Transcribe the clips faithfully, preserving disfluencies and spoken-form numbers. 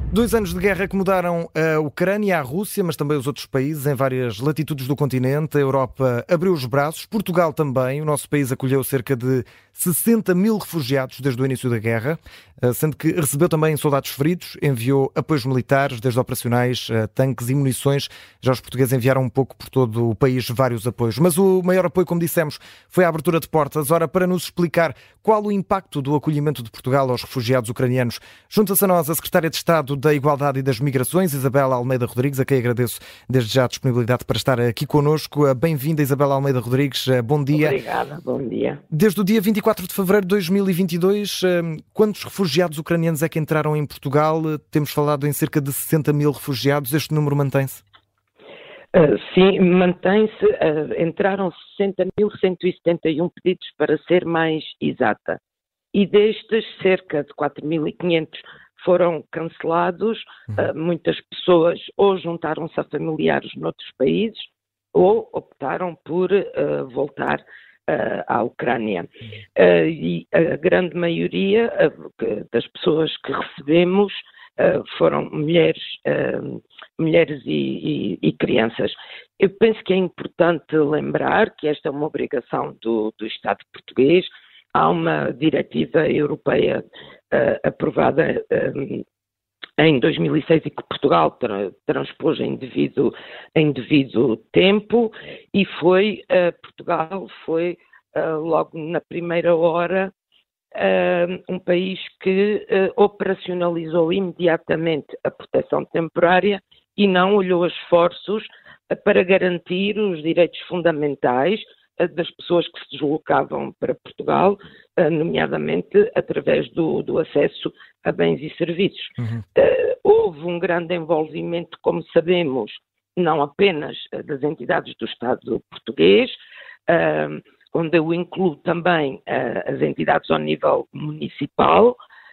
Dois anos de guerra que mudaram a Ucrânia, a Rússia, mas também os outros países em várias latitudes do continente. A Europa abriu os braços, Portugal também. O nosso país acolheu cerca de sessenta mil refugiados desde o início da guerra, sendo que recebeu também soldados feridos, enviou apoios militares, desde operacionais, tanques e munições. Já os portugueses enviaram um pouco por todo o país vários apoios. Mas o maior apoio, como dissemos, foi a abertura de portas. Ora, para nos explicar qual o impacto do acolhimento de Portugal aos refugiados ucranianos, junta-se a nós a Secretária de Estado da Igualdade e das Migrações, Isabela Almeida Rodrigues, a quem agradeço desde já a disponibilidade para estar aqui connosco. Bem-vinda, Isabela Almeida Rodrigues. Bom dia. Obrigada, bom dia. Desde o dia vinte e quatro de fevereiro de dois mil e vinte e dois, quantos refugiados ucranianos é que entraram em Portugal? Temos falado em cerca de sessenta mil refugiados. Este número mantém-se? Uh, sim, mantém-se. Uh, entraram sessenta mil cento e setenta e um pedidos, para ser mais exata. E destes, cerca de quatro mil e quinhentos foram cancelados. Uhum. Uh, muitas pessoas ou juntaram-se a familiares noutros países ou optaram por uh, voltar uh, à Ucrânia. Uh, e a grande maioria uh, das pessoas que recebemos uh, foram mulheres, uh, mulheres e, e, e crianças. Eu penso que é importante lembrar que esta é uma obrigação do, do Estado português. Há uma diretiva europeia uh, aprovada um, em dois mil e seis e que Portugal tra- transpôs em devido, em devido tempo, e foi, uh, Portugal foi uh, logo na primeira hora uh, um país que uh, operacionalizou imediatamente a proteção temporária e não olhou esforços uh, para garantir os direitos fundamentais das pessoas que se deslocavam para Portugal, nomeadamente através do, do acesso a bens e serviços. Uhum. Uh, houve um grande envolvimento, como sabemos, não apenas das entidades do Estado português, uh, onde eu incluo também uh, as entidades ao nível municipal,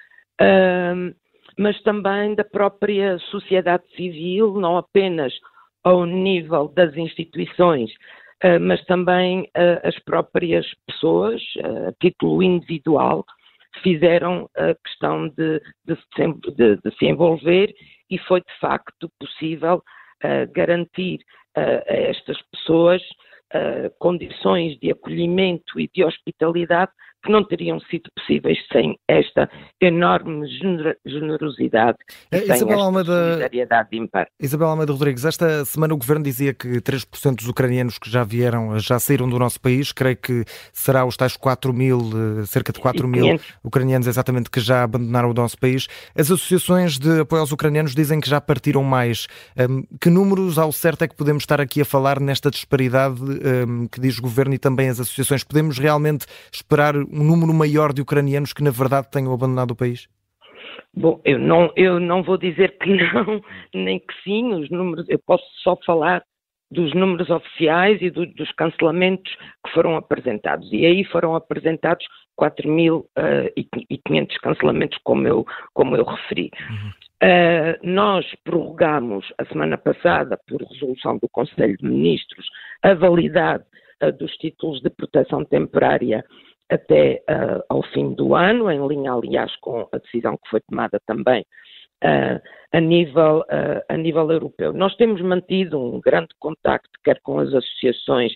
uh, mas também da própria sociedade civil, não apenas ao nível das instituições, Uh, mas também uh, as próprias pessoas, uh, a título individual, fizeram a questão de, de, de, de se envolver, e foi de facto possível uh, garantir uh, a estas pessoas uh, condições de acolhimento e de hospitalidade que não teriam sido possíveis sem esta enorme gener- generosidade e é, sem Isabela esta Almeida, solidariedade ímpar. Isabela Almeida Rodrigues, esta semana o Governo dizia que três por cento dos ucranianos que já vieram, já saíram do nosso país. Creio que será os tais quatro mil, cerca de quatro mil ucranianos exatamente que já abandonaram o nosso país. As associações de apoio aos ucranianos dizem que já partiram mais. Um, que números ao certo é que podemos estar aqui a falar nesta disparidade um, que diz o Governo e também as associações? Podemos realmente esperar um número maior de ucranianos que na verdade tenham abandonado o país? Bom, eu não, eu não vou dizer que não, nem que sim. Os números, eu posso só falar dos números oficiais e do, dos cancelamentos que foram apresentados. E aí foram apresentados quatro mil e quinhentos cancelamentos, como eu, como eu referi. Uhum. Uh, nós prorrogamos a semana passada, por resolução do Conselho de Ministros, a validade uh, dos títulos de proteção temporária até uh, ao fim do ano, em linha, aliás, com a decisão que foi tomada também uh, a, nível, uh, a nível europeu. Nós temos mantido um grande contacto, quer com as associações,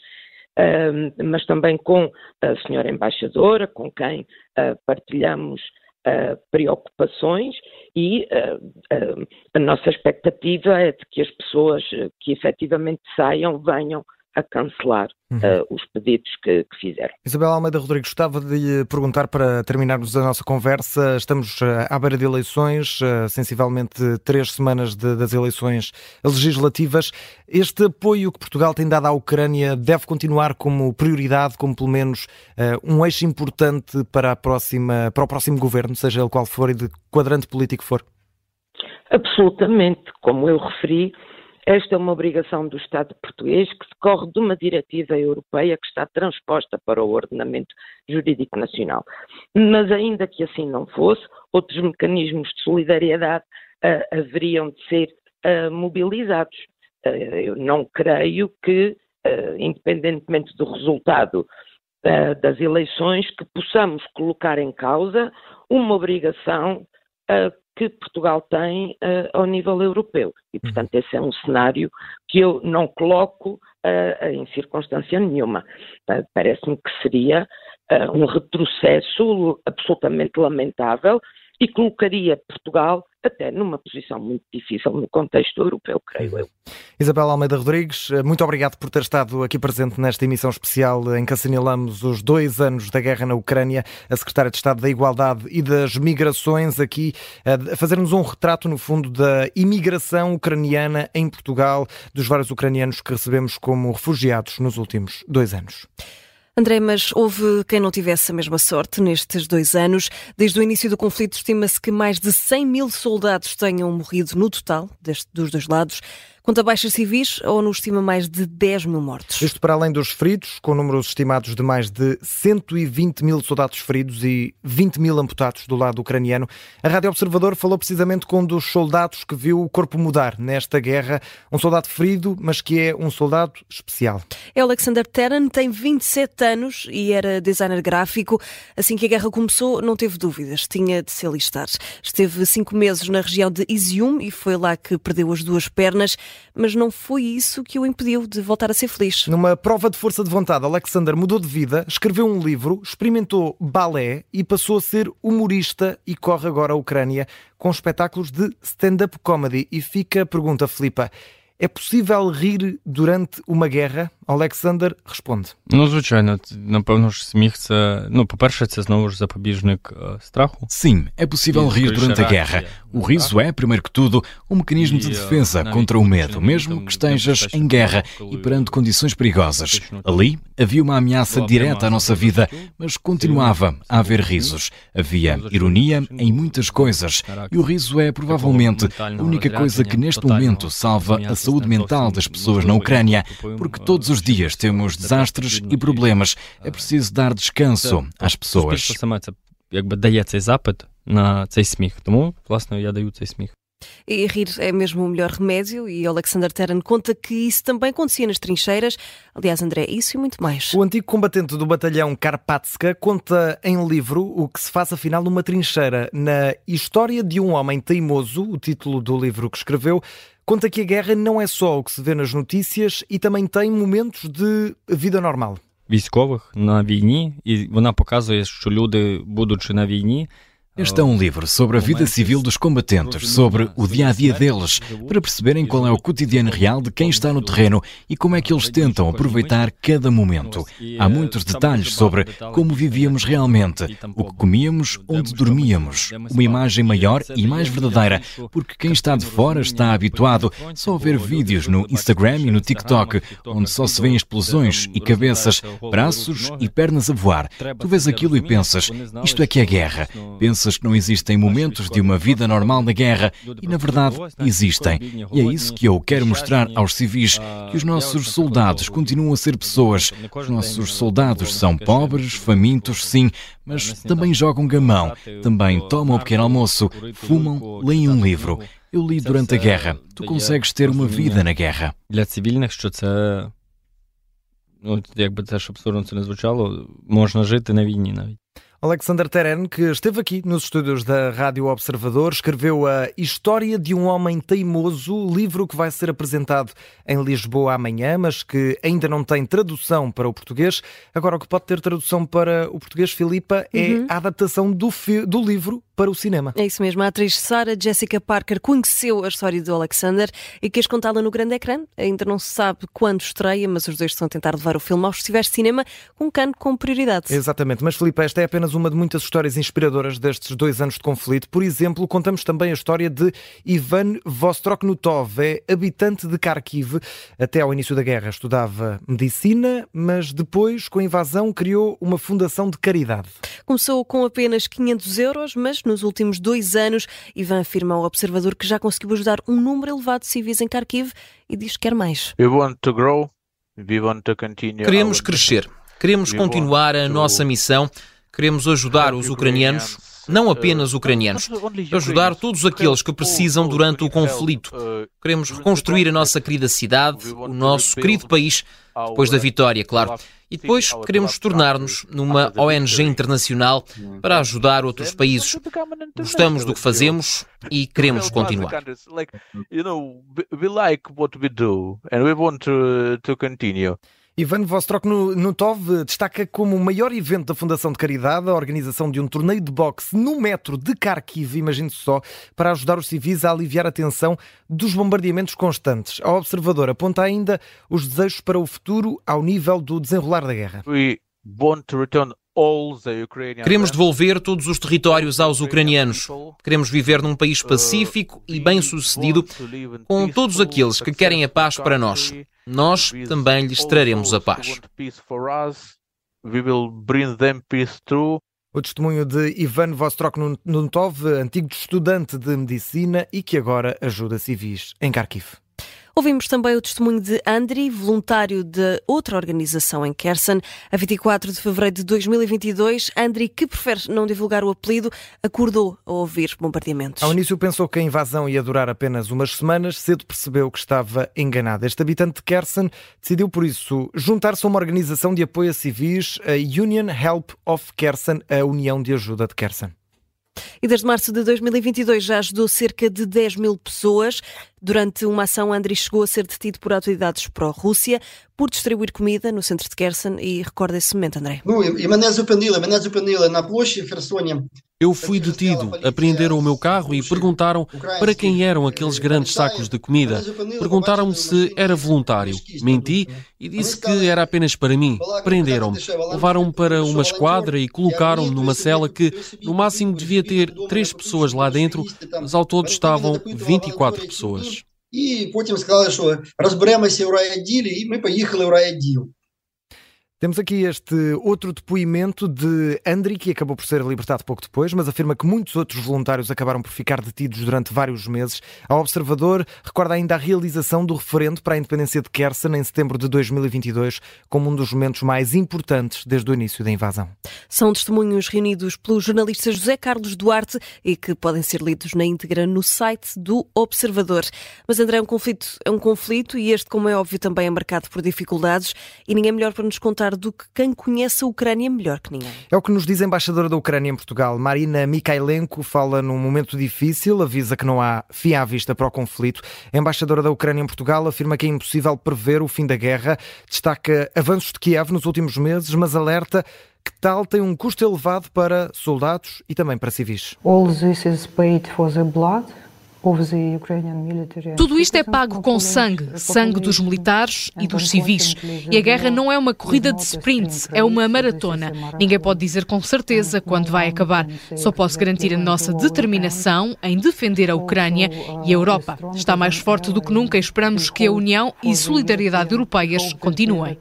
uh, mas também com a senhora embaixadora, com quem uh, partilhamos uh, preocupações, e uh, uh, a nossa expectativa é de que as pessoas uh, que efetivamente saiam venham a cancelar uhum. uh, os pedidos que, que fizeram. Isabela Almeida Rodrigues, gostava de lhe perguntar, para terminarmos a nossa conversa, estamos à beira de eleições, sensivelmente três semanas de, das eleições legislativas. Este apoio que Portugal tem dado à Ucrânia deve continuar como prioridade, como pelo menos uh, um eixo importante para, a próxima, para o próximo governo, seja ele qual for e de quadrante político for? Absolutamente. Como eu referi, esta é uma obrigação do Estado português que decorre de uma diretiva europeia que está transposta para o ordenamento jurídico nacional. Mas ainda que assim não fosse, outros mecanismos de solidariedade uh, haveriam de ser uh, mobilizados. Uh, eu não creio que, uh, independentemente do resultado uh, das eleições, que possamos colocar em causa uma obrigação uh, que Portugal tem uh, ao nível europeu. E, portanto, esse é um cenário que eu não coloco uh, em circunstância nenhuma. Uh, parece-me que seria uh, um retrocesso absolutamente lamentável e colocaria Portugal até numa posição muito difícil no contexto europeu, creio eu. Isabel Almeida Rodrigues, muito obrigado por ter estado aqui presente nesta emissão especial em que assinalamos os dois anos da guerra na Ucrânia. A Secretária de Estado da Igualdade e das Migrações aqui a fazer-nos um retrato, no fundo, da imigração ucraniana em Portugal, dos vários ucranianos que recebemos como refugiados nos últimos dois anos. André, mas houve quem não tivesse a mesma sorte nestes dois anos. Desde o início do conflito, estima-se que mais de cem mil soldados tenham morrido no total, deste, dos dois lados. Conta baixas civis, ou nos estima mais de dez mil mortos? Isto para além dos feridos, com números estimados de mais de cento e vinte mil soldados feridos e vinte mil amputados do lado ucraniano. A Rádio Observador falou precisamente com um dos soldados que viu o corpo mudar nesta guerra. Um soldado ferido, mas que é um soldado especial. É Alexander Terran, tem vinte e sete anos e era designer gráfico. Assim que a guerra começou, não teve dúvidas, tinha de se alistar. Esteve cinco meses na região de Izium e foi lá que perdeu as duas pernas. Mas não foi isso que o impediu de voltar a ser feliz. Numa prova de força de vontade, Alexander mudou de vida, escreveu um livro, experimentou balé e passou a ser humorista e corre agora a Ucrânia com espetáculos de stand-up comedy. E fica a pergunta, Filipa, é possível rir durante uma guerra? Alexander responde. Ну, звичайно, напевно ж сміх це, ну, по-перше, це знову ж запобіжник страху. Sim, é possível rir durante a guerra. O riso é, primeiro que tudo, um mecanismo de defesa contra o medo, mesmo que estejas em guerra e perante condições perigosas. Ali havia uma ameaça direta à nossa vida, mas continuava a haver risos. Havia ironia em muitas coisas e o riso é provavelmente a única coisa que neste momento salva a saúde mental das pessoas na Ucrânia, porque todos os dias temos desastres e problemas. É preciso dar descanso às pessoas. Якби дає цей запит на цей сміх. Тому, власне, я даю цей сміх. E rir é mesmo o melhor remédio e Alexander Terran conta que isso também acontecia nas trincheiras. Aliás, André, isso e muito mais. O antigo combatente do batalhão Karpatska conta em livro o que se faz afinal numa trincheira. Na História de um Homem Teimoso, o título do livro que escreveu, conta que a guerra não é só o que se vê nas notícias e também tem momentos de vida normal. Військових на війні, і вона показує, що люди, будучи на війні, Este é um livro sobre a vida civil dos combatentes, sobre o dia-a-dia deles, para perceberem qual é o cotidiano real de quem está no terreno e como é que eles tentam aproveitar cada momento. Há muitos detalhes sobre como vivíamos realmente, o que comíamos, onde dormíamos. Uma imagem maior e mais verdadeira, porque quem está de fora está habituado só a ver vídeos no Instagram e no TikTok, onde só se vêem explosões e cabeças, braços e pernas a voar. Tu vês aquilo e pensas, isto é que é guerra. Pensas que não existem momentos de uma vida normal na guerra e, na verdade, existem. E é isso que eu quero mostrar aos civis, que os nossos soldados continuam a ser pessoas. Os nossos soldados são pobres, famintos, sim, mas também jogam gamão, também tomam um pequeno almoço, fumam, leem um livro. Eu li durante a guerra. Tu consegues ter uma vida na guerra. Для цивільних, що це, ну, якби це, щоб абсурдно це не звучало, можна жити на війні навіть. Alexander Terran, que esteve aqui nos estúdios da Rádio Observador, escreveu a História de um Homem Teimoso, livro que vai ser apresentado em Lisboa amanhã, mas que ainda não tem tradução para o português. Agora, o que pode ter tradução para o português, Filipa, é uhum. a adaptação do, fi- do livro para o cinema. É isso mesmo. A atriz Sarah Jessica Parker conheceu a história do Alexander e quis contá-la no grande ecrã. Ainda não se sabe quando estreia, mas os dois estão a tentar levar o filme aos festivais de cinema com Cannes com prioridade. Exatamente. Mas, Filipa, esta é apenas uma de muitas histórias inspiradoras destes dois anos de conflito. Por exemplo, contamos também a história de Ivan Vostroknutov. É habitante de Kharkiv. Até ao início da guerra estudava medicina, mas depois, com a invasão, criou uma fundação de caridade. Começou com apenas quinhentos euros, mas nos últimos dois anos, Ivan afirma ao Observador que já conseguiu ajudar um número elevado de civis em Kharkiv e diz que quer mais. We want to grow. We want to continue. Queremos crescer. Queremos continuar a nossa missão. Queremos ajudar os ucranianos não apenas ucranianos, ajudar todos aqueles que precisam durante o conflito. Queremos reconstruir a nossa querida cidade, o nosso querido país, depois da vitória, claro. E depois queremos tornar-nos numa O N G internacional para ajudar outros países. Gostamos do que fazemos e queremos continuar. Ivan Vostrok-Nutov destaca como o maior evento da Fundação de Caridade a organização de um torneio de boxe no metro de Kharkiv, imagine-se só, para ajudar os civis a aliviar a tensão dos bombardeamentos constantes. A Observador aponta ainda os desejos para o futuro ao nível do desenrolar da guerra. Queremos devolver todos os territórios aos ucranianos. Queremos viver num país pacífico e bem-sucedido com todos aqueles que querem a paz para nós. Nós também lhes traremos a paz. O testemunho de Ivan Vostrok-Nutov, antigo estudante de medicina e que agora ajuda civis em Kharkiv. Ouvimos também o testemunho de Andriy, voluntário de outra organização em Kherson. A vinte e quatro de fevereiro de dois mil e vinte e dois, Andriy, que prefere não divulgar o apelido, acordou a ouvir bombardeamentos. Ao início pensou que a invasão ia durar apenas umas semanas, cedo percebeu que estava enganado. Este habitante de Kherson decidiu, por isso, juntar-se a uma organização de apoio a civis, a Union Help of Kherson, a União de Ajuda de Kherson. E desde março de dois mil e vinte e dois já ajudou cerca de dez mil pessoas. Durante uma ação, Andriy chegou a ser detido por autoridades pró-Rússia por distribuir comida no centro de Kherson. E recorda esse momento, André. Eu fui detido, apreenderam o meu carro e perguntaram para quem eram aqueles grandes sacos de comida. Perguntaram-me se era voluntário. Menti e disse que era apenas para mim. Prenderam-me. Levaram-me para uma esquadra e colocaram-me numa cela que, no máximo, devia ter três pessoas lá dentro, mas ao todo estavam vinte e quatro pessoas. E потім сказали, що розберемося у райвідділі, і ми поїхали у райвідділ. Temos aqui este outro depoimento de Andriy, que acabou por ser libertado pouco depois, mas afirma que muitos outros voluntários acabaram por ficar detidos durante vários meses. A Observador recorda ainda a realização do referendo para a independência de Kherson em setembro de dois mil e vinte e dois como um dos momentos mais importantes desde o início da invasão. São testemunhos reunidos pelo jornalista José Carlos Duarte e que podem ser lidos na íntegra no site do Observador. Mas, André, é um conflito, é um conflito e este, como é óbvio, também é marcado por dificuldades e ninguém melhor para nos contar do que quem conhece a Ucrânia melhor que ninguém. É o que nos diz a embaixadora da Ucrânia em Portugal. Marina Mikhailenko fala num momento difícil, avisa que não há fim à vista para o conflito. A embaixadora da Ucrânia em Portugal afirma que é impossível prever o fim da guerra, destaca avanços de Kiev nos últimos meses, mas alerta que tal tem um custo elevado para soldados e também para civis. All this is paid for the blood. Tudo isto é pago com sangue, sangue dos militares e dos civis. E a guerra não é uma corrida de sprint, é uma maratona. Ninguém pode dizer com certeza quando vai acabar. Só posso garantir a nossa determinação em defender a Ucrânia e a Europa. Está mais forte do que nunca e esperamos que a união e solidariedade europeias continuem.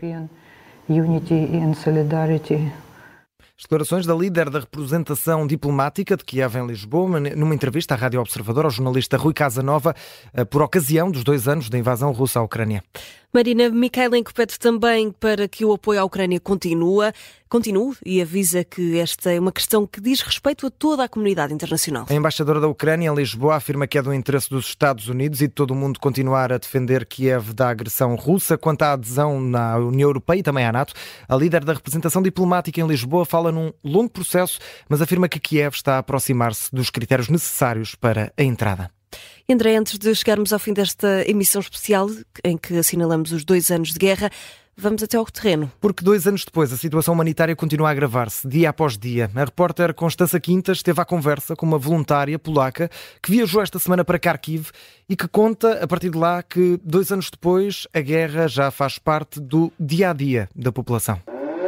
Declarações da líder da representação diplomática de Kiev em Lisboa, numa entrevista à Rádio Observador ao jornalista Rui Casanova, por ocasião dos dois anos da invasão russa à Ucrânia. Marina Mikhailenko pede também para que o apoio à Ucrânia continue, continue e avisa que esta é uma questão que diz respeito a toda a comunidade internacional. A embaixadora da Ucrânia em Lisboa afirma que é do interesse dos Estados Unidos e de todo o mundo continuar a defender Kiev da agressão russa. Quanto à adesão na União Europeia e também à NATO, a líder da representação diplomática em Lisboa fala num longo processo, mas afirma que Kiev está a aproximar-se dos critérios necessários para a entrada. André, antes de chegarmos ao fim desta emissão especial, em que assinalamos os dois anos de guerra, vamos até ao terreno. Porque dois anos depois a situação humanitária continua a agravar-se, dia após dia. A repórter Constança Quintas esteve à conversa com uma voluntária polaca que viajou esta semana para Kharkiv e que conta, a partir de lá, que dois anos depois a guerra já faz parte do dia-a-dia da população.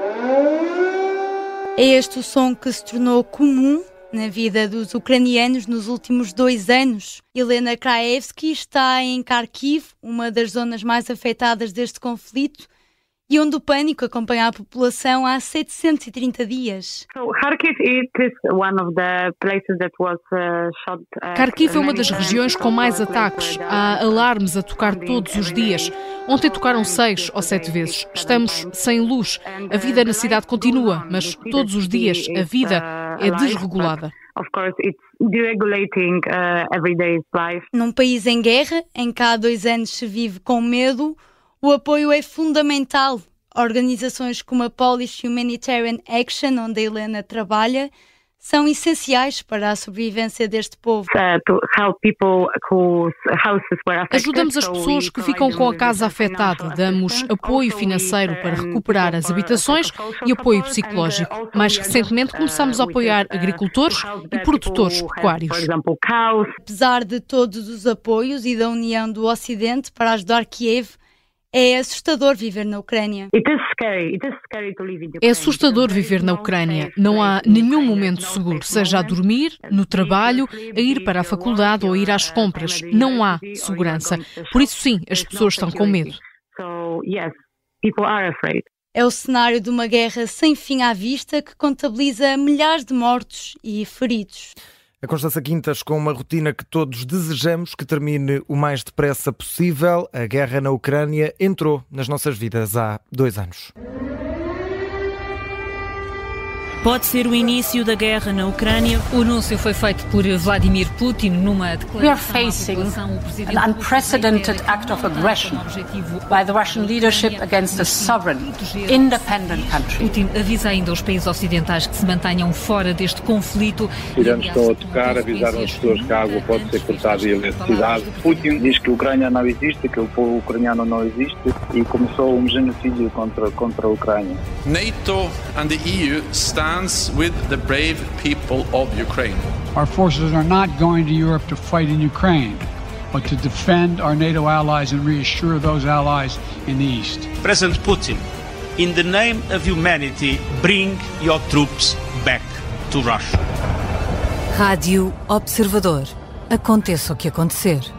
É este o som que se tornou comum na vida dos ucranianos nos últimos dois anos. Helena Kraevski está em Kharkiv, uma das zonas mais afetadas deste conflito, e onde o pânico acompanha a população há setecentos e trinta dias. Kharkiv é uma das regiões com mais ataques. Há alarmes a tocar todos os dias. Ontem tocaram seis ou sete vezes. Estamos sem luz. A vida na cidade continua, mas todos os dias a vida é desregulada. Num país em guerra, em que há dois anos se vive com medo, o apoio é fundamental. Organizações como a Polish Humanitarian Action, onde a Helena trabalha, são essenciais para a sobrevivência deste povo. Ajudamos as pessoas que ficam com a casa afetada, damos apoio financeiro para recuperar as habitações e apoio psicológico. Mais recentemente começamos a apoiar agricultores e produtores pecuários. Apesar de todos os apoios e da união do Ocidente para ajudar Kiev, é assustador viver na Ucrânia. É assustador viver na Ucrânia. Não há nenhum momento seguro, seja a dormir, no trabalho, a ir para a faculdade ou a ir às compras. Não há segurança. Por isso, sim, as pessoas estão com medo. É o cenário de uma guerra sem fim à vista que contabiliza milhares de mortos e feridos. A Constança Quintas com uma rotina que todos desejamos que termine o mais depressa possível. A guerra na Ucrânia entrou nas nossas vidas há dois anos. Pode ser o início da guerra na Ucrânia. O anúncio foi feito por Vladimir Putin numa declaração. We are facing an unprecedented act of aggression by the Russian leadership against a sovereign, independent country. Putin avisa ainda os países ocidentais que se mantenham fora deste conflito. Os iranos estão a tocar, avisaram as pessoas que a água pode ser cortada e a eletricidade. Putin diz que a Ucrânia não existe, que o povo ucraniano não existe e começou um genocídio contra, contra a Ucrânia. NATO and the E U stand with the brave people of Ukraine. Our forces are not going to Europe to fight in Ukraine, but to defend our NATO allies and reassure those allies in the East. President Putin, in the name of humanity, bring your troops back to Russia. Rádio Observador. Aconteça o que acontecer.